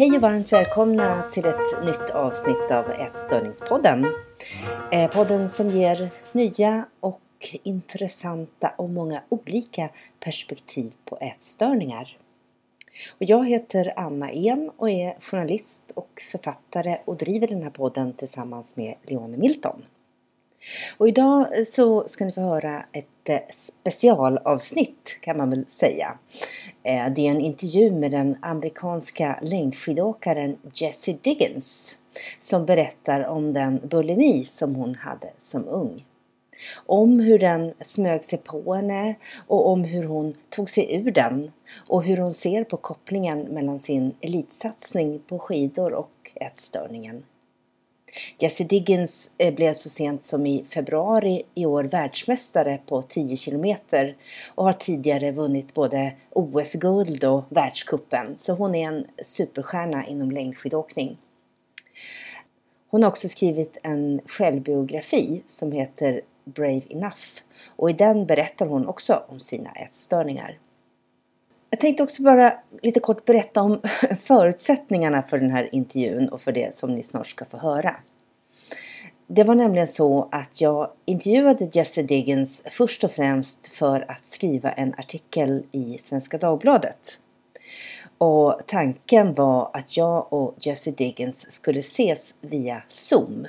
Hej och varmt välkomna till ett nytt avsnitt av Ätstörningspodden. Podden som ger nya och intressanta och många olika perspektiv på ätstörningar. Och jag heter Anna En och är journalist och författare och driver den här podden tillsammans med Leone Milton. Och idag så ska ni få höra ett specialavsnitt kan man väl säga. Det är en intervju med den amerikanska längdskidåkaren Jessie Diggins som berättar om den bulimi som hon hade som ung. Om hur den smög sig på henne och om hur hon tog sig ur den och hur hon ser på kopplingen mellan sin elitsatsning på skidor och ätstörningen. Jessie Diggins blev så sent som i februari i år världsmästare på 10 kilometer och har tidigare vunnit både OS-guld och världscupen, så hon är en superstjärna inom längdskidåkning. Hon har också skrivit en självbiografi som heter Brave Enough och i den berättar hon också om sina ätstörningar. Jag tänkte också bara lite kort berätta om förutsättningarna för den här intervjun och för det som ni snart ska få höra. Det var nämligen så att jag intervjuade Jessie Diggins först och främst för att skriva en artikel i Svenska Dagbladet. Och tanken var att jag och Jessie Diggins skulle ses via Zoom.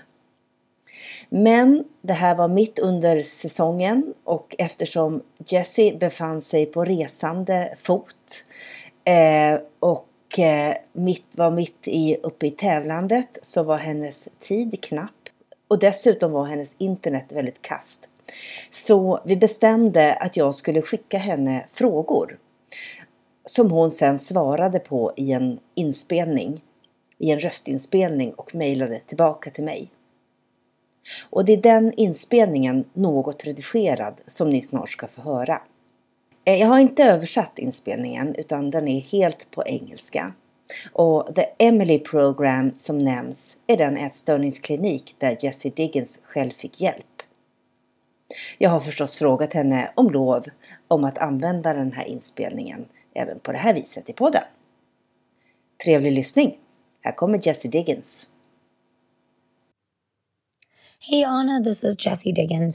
Men det här var mitt under säsongen och eftersom Jessie befann sig på resande fot och var mitt uppe i tävlandet så var hennes tid knapp och dessutom var hennes internet väldigt kast. Så vi bestämde att jag skulle skicka henne frågor som hon sen svarade på i en röstinspelning och mejlade tillbaka till mig. Och det är den inspelningen, något redigerad, som ni snart ska få höra. Jag har inte översatt inspelningen utan den är helt på engelska. Och The Emily Program som nämns är den ätstörningsklinik där Jessie Diggins själv fick hjälp. Jag har förstås frågat henne om lov om att använda den här inspelningen även på det här viset i podden. Trevlig lyssning! Här kommer Jessie Diggins. Hey, Anna, this is Jessie Diggins.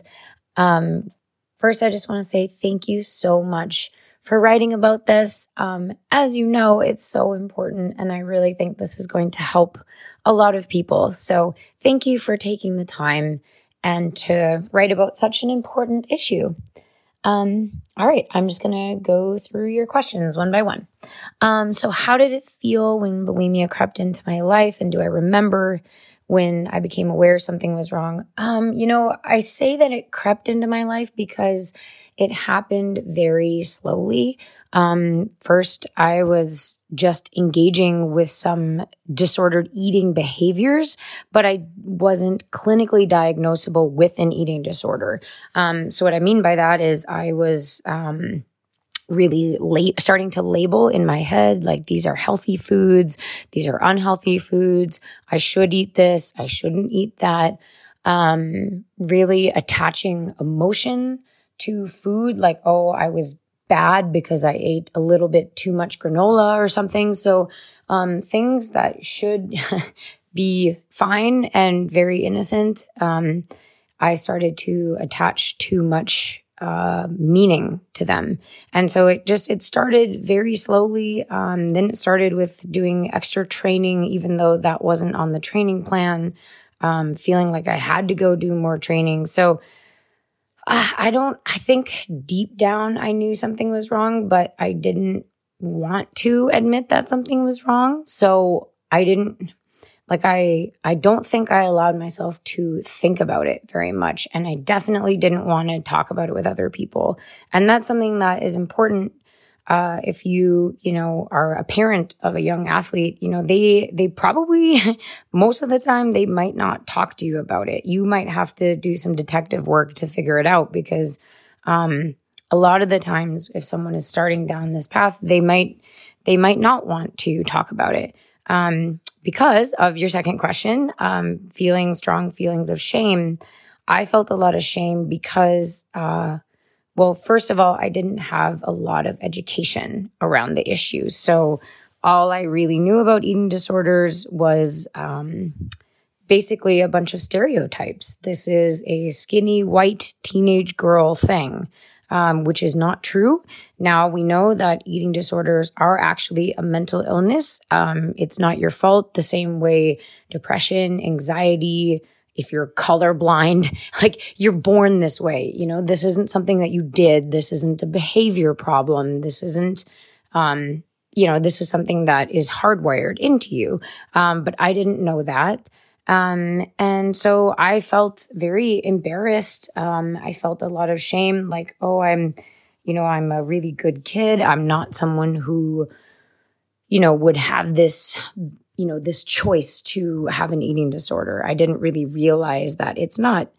First, I just want to say thank you so much for writing about this. As you know, it's so important, and I really think this is going to help a lot of people. So thank you for taking the time and to write about such an important issue. All right, I'm just going to go through your questions one by one. So how did it feel when bulimia crept into my life, and do I remember when I became aware something was wrong? I say that it crept into my life because it happened very slowly. First, I was just engaging with some disordered eating behaviors, but I wasn't clinically diagnosable with an eating disorder. So what I mean by that is I was really starting to label in my head, like these are healthy foods, these are unhealthy foods, I should eat this, I shouldn't eat that. Really attaching emotion to food, like, oh, I was bad because I ate a little bit too much granola or something. So things that should be fine and very innocent, I started to attach too much meaning to them. And so it started very slowly. Then it started with doing extra training, even though that wasn't on the training plan, feeling like I had to go do more training. So I think deep down I knew something was wrong, but I didn't want to admit that something was wrong. So I don't think I allowed myself to think about it very much. And I definitely didn't want to talk about it with other people. And that's something that is important. If you are a parent of a young athlete, they probably, most of the time, they might not talk to you about it. You might have to do some detective work to figure it out because, a lot of the times if someone is starting down this path, they might not want to talk about it. Because of your second question, feeling strong feelings of shame, I felt a lot of shame because, first of all, I didn't have a lot of education around the issue. So all I really knew about eating disorders was basically a bunch of stereotypes. This is a skinny white teenage girl thing, which is not true. Now we know that eating disorders are actually a mental illness. It's not your fault, the same way depression, anxiety, if you're colorblind, like you're born this way. You know, this isn't something that you did. This isn't a behavior problem. This isn't, this is something that is hardwired into you. But I didn't know that. And so I felt very embarrassed. I felt a lot of shame, like, oh, I'm a really good kid. I'm not someone who, would have this, this choice to have an eating disorder. I didn't really realize that it's not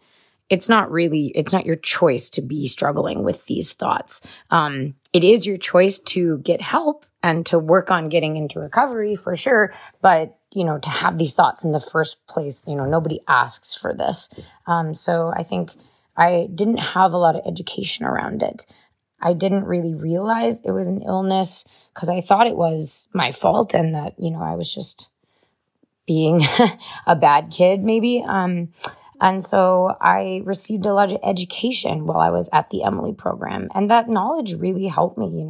your choice to be struggling with these thoughts. It is your choice to get help and to work on getting into recovery for sure. But, to have these thoughts in the first place, nobody asks for this. So I think I didn't have a lot of education around it. I didn't really realize it was an illness because I thought it was my fault and that, I was just being a bad kid maybe. And so I received a lot of education while I was at the Emily program. And that knowledge really helped me,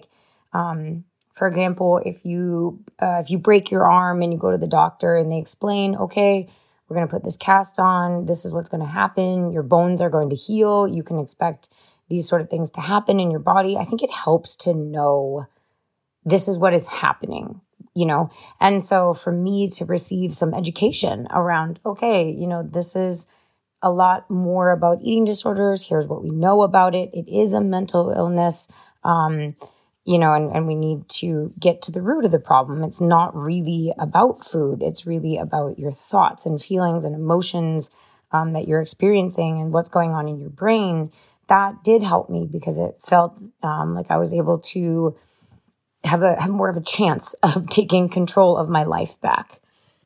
for example, if you break your arm and you go to the doctor and they explain, okay, we're going to put this cast on. This is what's going to happen. Your bones are going to heal. You can expect these sort of things to happen in your body. I think it helps to know this is what is happening, And so for me to receive some education around, okay, this is a lot more about eating disorders. Here's what we know about it. It is a mental illness, and we need to get to the root of the problem. It's not really about food. It's really about your thoughts and feelings and emotions that you're experiencing and what's going on in your brain. That did help me because it felt like I was able to have more of a chance of taking control of my life back.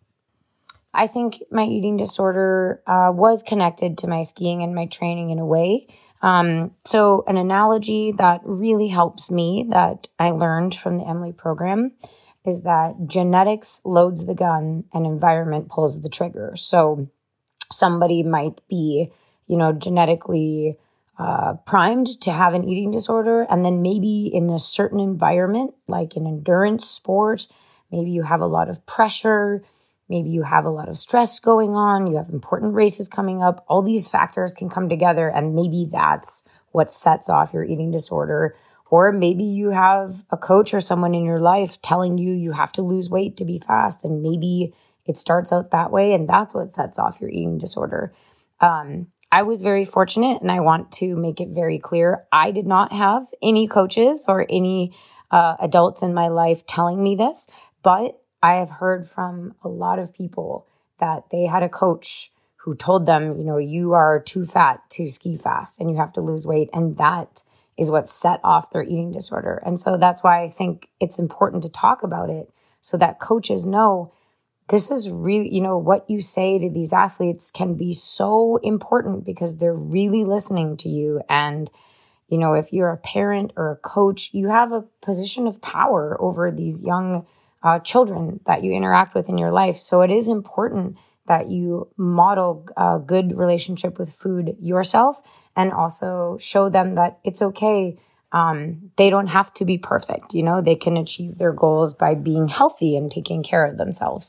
I think my eating disorder was connected to my skiing and my training in a way. So an analogy that really helps me that I learned from the Emily program is that genetics loads the gun and environment pulls the trigger. So somebody might be, genetically primed to have an eating disorder. And then maybe in a certain environment, like an endurance sport, maybe you have a lot of pressure, maybe you have a lot of stress going on, you have important races coming up. All these factors can come together and maybe that's what sets off your eating disorder. Or maybe you have a coach or someone in your life telling you you have to lose weight to be fast. And maybe it starts out that way and that's what sets off your eating disorder. I was very fortunate and I want to make it very clear. I did not have any coaches or any adults in my life telling me this, but I have heard from a lot of people that they had a coach who told them, you are too fat to ski fast and you have to lose weight. And that is what set off their eating disorder. And so that's why I think it's important to talk about it so that coaches know this is really, what you say to these athletes can be so important because they're really listening to you. And, if you're a parent or a coach, you have a position of power over these young children that you interact with in your life. So it is important that you model a good relationship with food yourself and also show them that it's okay. They don't have to be perfect. They can achieve their goals by being healthy and taking care of themselves.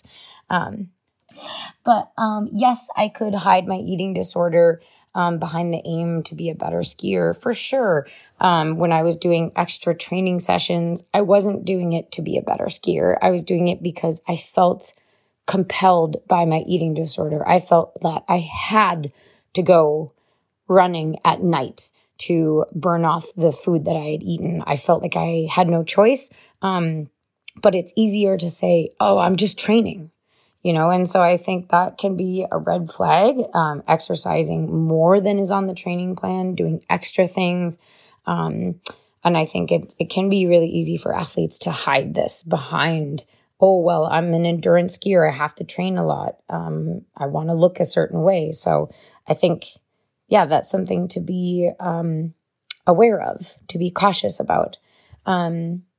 But yes, I could hide my eating disorder behind the aim to be a better skier for sure. When I was doing extra training sessions, I wasn't doing it to be a better skier. I was doing it because I felt compelled by my eating disorder. I felt that I had to go running at night to burn off the food that I had eaten. I felt like I had no choice. But it's easier to say, oh, I'm just training, and so I think that can be a red flag, exercising more than is on the training plan, doing extra things. And I think it can be really easy for athletes to hide this behind, oh, well, I'm an endurance skier. I have to train a lot. I want to look a certain way. So I think, that's something to be aware of, to be cautious about.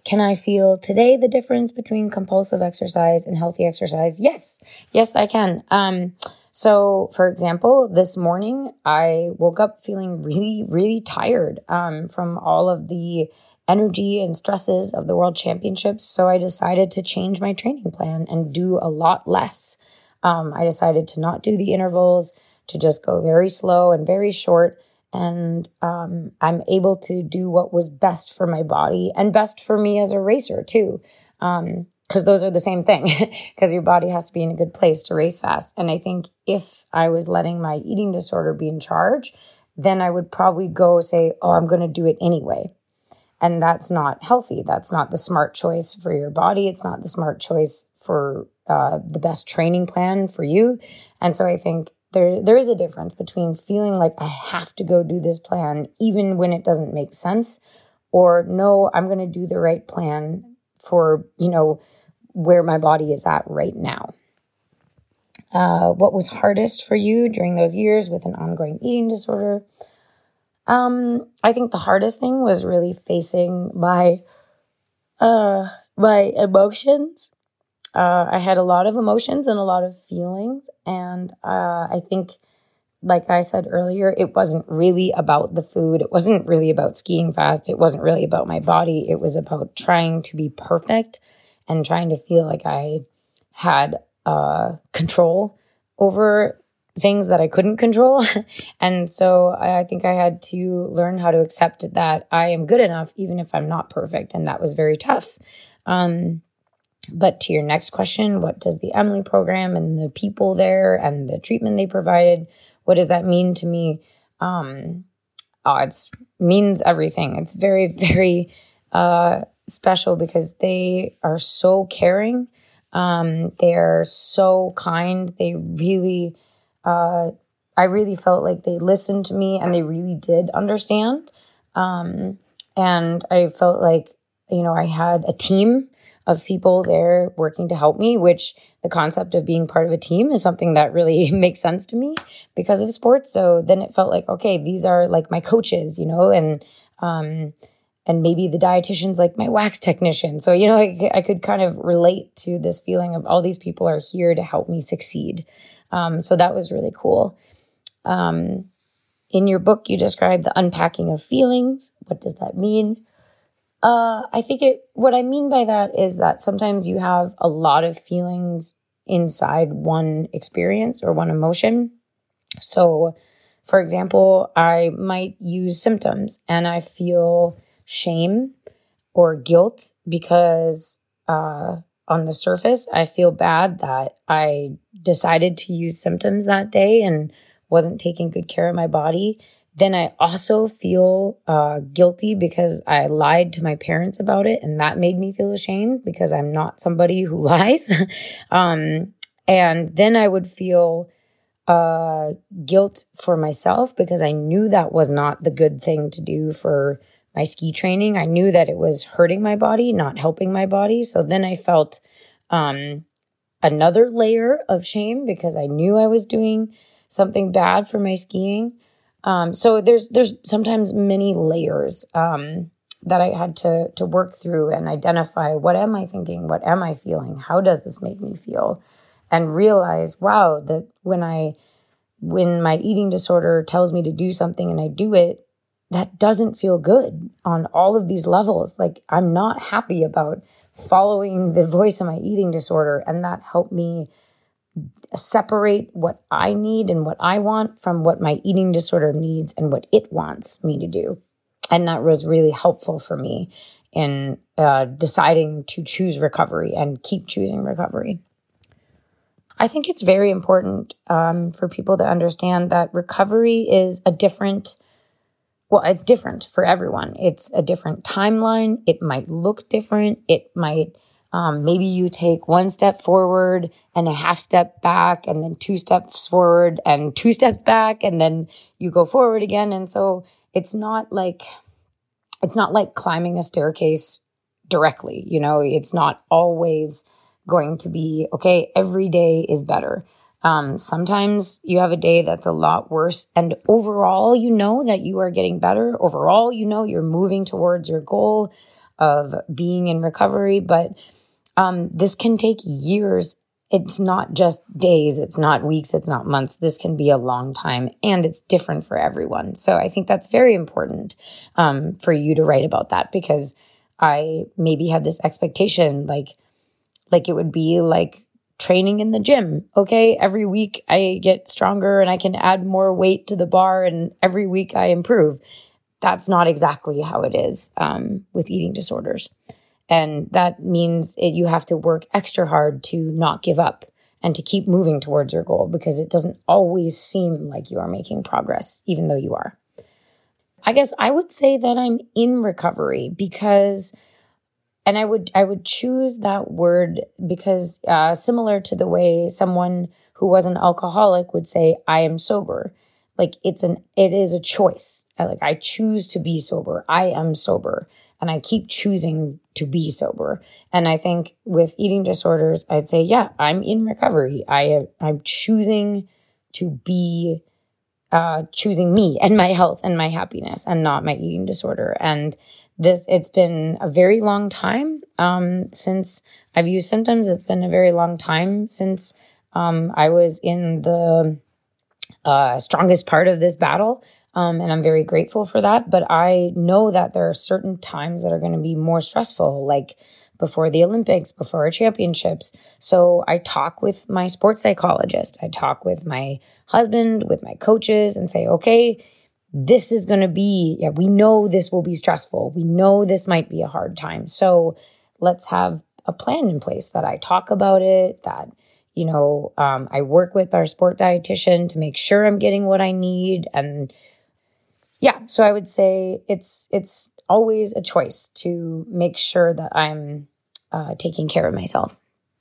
Can I feel today the difference between compulsive exercise and healthy exercise? Yes. Yes, I can. So for example, this morning I woke up feeling really, really tired from all of the energy and stresses of the World Championships. So I decided to change my training plan and do a lot less. I decided to not do the intervals, to just go very slow and very short. And I'm able to do what was best for my body and best for me as a racer too. Because those are the same thing, because your body has to be in a good place to race fast. And I think if I was letting my eating disorder be in charge, then I would probably go say, oh, I'm going to do it anyway. And that's not healthy. That's not the smart choice for your body. It's not the smart choice for the best training plan for you. And so I think there is a difference between feeling like I have to go do this plan, even when it doesn't make sense, or no, I'm going to do the right plan for, where my body is at right now. What was hardest for you during those years with an ongoing eating disorder? I think the hardest thing was really facing my emotions. I had a lot of emotions and a lot of feelings. And I think, like I said earlier, it wasn't really about the food. It wasn't really about skiing fast. It wasn't really about my body. It was about trying to be perfect and trying to feel like I had control over things that I couldn't control. And so I think I had to learn how to accept that I am good enough, even if I'm not perfect. And that was very tough. But to your next question, what does the Emily program and the people there and the treatment they provided, what does that mean to me? It means everything. It's very, very special because they are so caring. They are so kind. They really, I really felt like they listened to me and they really did understand. And I felt like, I had a team of people there working to help me, which the concept of being part of a team is something that really makes sense to me because of sports. So then it felt like, okay, these are like my coaches, and maybe the dietitian's like my wax technician. So, I could kind of relate to this feeling of all these people are here to help me succeed. So that was really cool. In your book, you describe the unpacking of feelings. What does that mean? I think what I mean by that is that sometimes you have a lot of feelings inside one experience or one emotion. So, for example, I might use symptoms and I feel shame or guilt because on the surface, I feel bad that I decided to use symptoms that day and wasn't taking good care of my body. Then I also feel guilty because I lied to my parents about it, and that made me feel ashamed because I'm not somebody who lies. And then I would feel guilt for myself because I knew that was not the good thing to do for my ski training. I knew that it was hurting my body, not helping my body. So then I felt another layer of shame because I knew I was doing something bad for my skiing. So there's sometimes many layers that I had to work through and identify, what am I thinking? What am I feeling? How does this make me feel? And realize, wow, that when my eating disorder tells me to do something and I do it, that doesn't feel good on all of these levels. Like, I'm not happy about following the voice of my eating disorder. And that helped me separate what I need and what I want from what my eating disorder needs and what it wants me to do. And that was really helpful for me in deciding to choose recovery and keep choosing recovery. I think it's very important for people to understand that recovery is it's different for everyone. It's a different timeline. It might look different. It might maybe you take one step forward and a half step back and then 2 steps forward and 2 steps back and then you go forward again. And so it's not like climbing a staircase directly. It's not always going to be, okay, every day is better. Sometimes you have a day that's a lot worse. And overall, that you are getting better. Overall, you're moving towards your goal. of being in recovery, but this can take years. It's not just days, it's not weeks, it's not months. This can be a long time, and it's different for everyone. So I think that's very important for you to write about that, because I maybe had this expectation, like it would be like training in the gym. Okay, every week I get stronger and I can add more weight to the bar, and every week I improve. That's not exactly how it is with eating disorders. And that means you have to work extra hard to not give up and to keep moving towards your goal, because it doesn't always seem like you are making progress, even though you are. I guess I would say that I'm in recovery because, and I would choose that word because similar to the way someone who was an alcoholic would say, I am sober. Like it is a choice. I choose to be sober. I am sober. And I keep choosing to be sober. And I think with eating disorders, I'd say, yeah, I'm in recovery. I'm choosing to be, choosing me and my health and my happiness, and not my eating disorder. And it's been a very long time since I've used symptoms. It's been a very long time since I was in the strongest part of this battle. And I'm very grateful for that. But I know that there are certain times that are going to be more stressful, like before the Olympics, before our championships. So I talk with my sports psychologist. I talk with my husband, with my coaches, and say, okay, this is going to be, we know this will be stressful. We know this might be a hard time. So let's have a plan in place that I talk about it, that I work with our sport dietitian to make sure I'm getting what I need. And yeah, so I would say it's always a choice to make sure that I'm taking care of myself.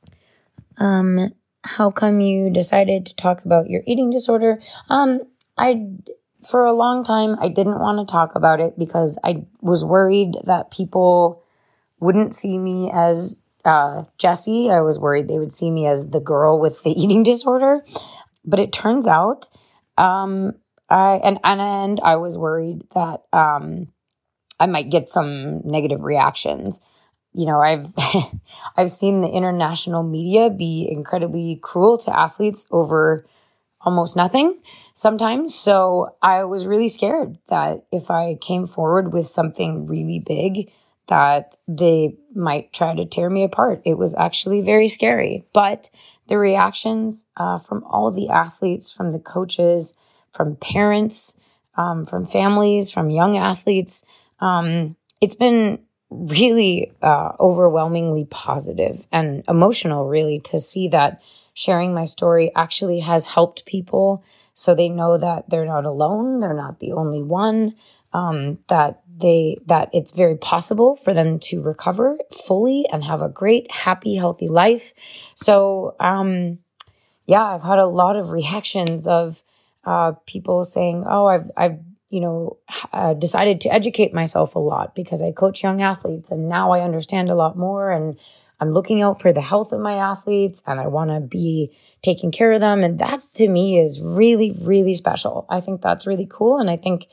How come you decided to talk about your eating disorder? For a long time, I didn't want to talk about it because I was worried that people wouldn't see me as Jessie. I was worried they would see me as the girl with the eating disorder. But it turns out, I was worried that I might get some negative reactions. I've seen the international media be incredibly cruel to athletes over almost nothing sometimes. So I was really scared that if I came forward with something really big, that they might try to tear me apart. It was actually very scary. But the reactions from all the athletes, from the coaches, from parents, from families, from young athletes, it's been really overwhelmingly positive and emotional, really, to see that sharing my story actually has helped people, so they know that they're not alone, they're not the only one, that it's very possible for them to recover fully and have a great, happy, healthy life. So, I've had a lot of reactions of people saying, "Oh, I've decided to educate myself a lot because I coach young athletes, and now I understand a lot more, and I'm looking out for the health of my athletes, and I want to be taking care of them." And that to me is really, really special. I think that's really cool. And I think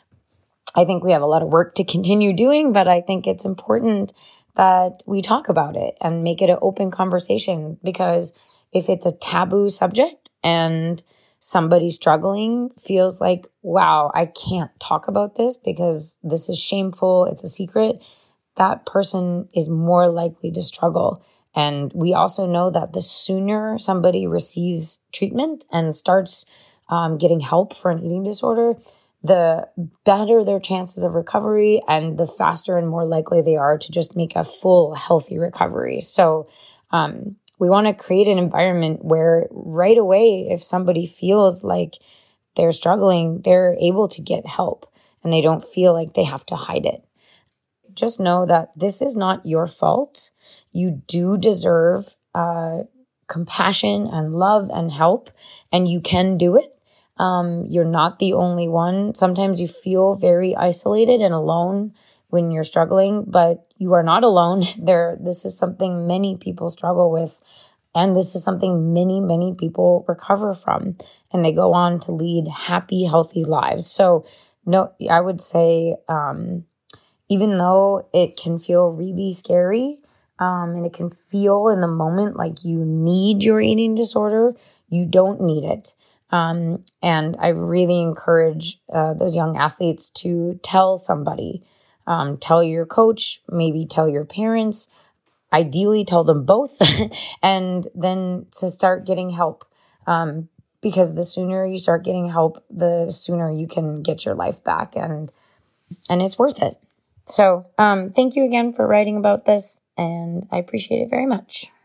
we have a lot of work to continue doing, but I think it's important that we talk about it and make it an open conversation, because if it's a taboo subject and somebody struggling feels like, wow, I can't talk about this because this is shameful, it's a secret, that person is more likely to struggle. And we also know that the sooner somebody receives treatment and starts getting help for an eating disorder, the better their chances of recovery, and the faster and more likely they are to just make a full, healthy recovery. So we want to create an environment where right away, if somebody feels like they're struggling, they're able to get help and they don't feel like they have to hide it. Just know that this is not your fault. You do deserve compassion and love and help, and you can do it. You're not the only one. Sometimes you feel very isolated and alone when you're struggling, but you are not alone. This is something many people struggle with, and this is something many, many people recover from, and they go on to lead happy, healthy lives. So, no, I would say, even though it can feel really scary, and it can feel in the moment like you need your eating disorder, you don't need it. And I really encourage those young athletes to tell somebody, tell your coach, maybe tell your parents, ideally tell them both, and then to start getting help. Because the sooner you start getting help, the sooner you can get your life back, and it's worth it. So thank you again for writing about this, and I appreciate it very much.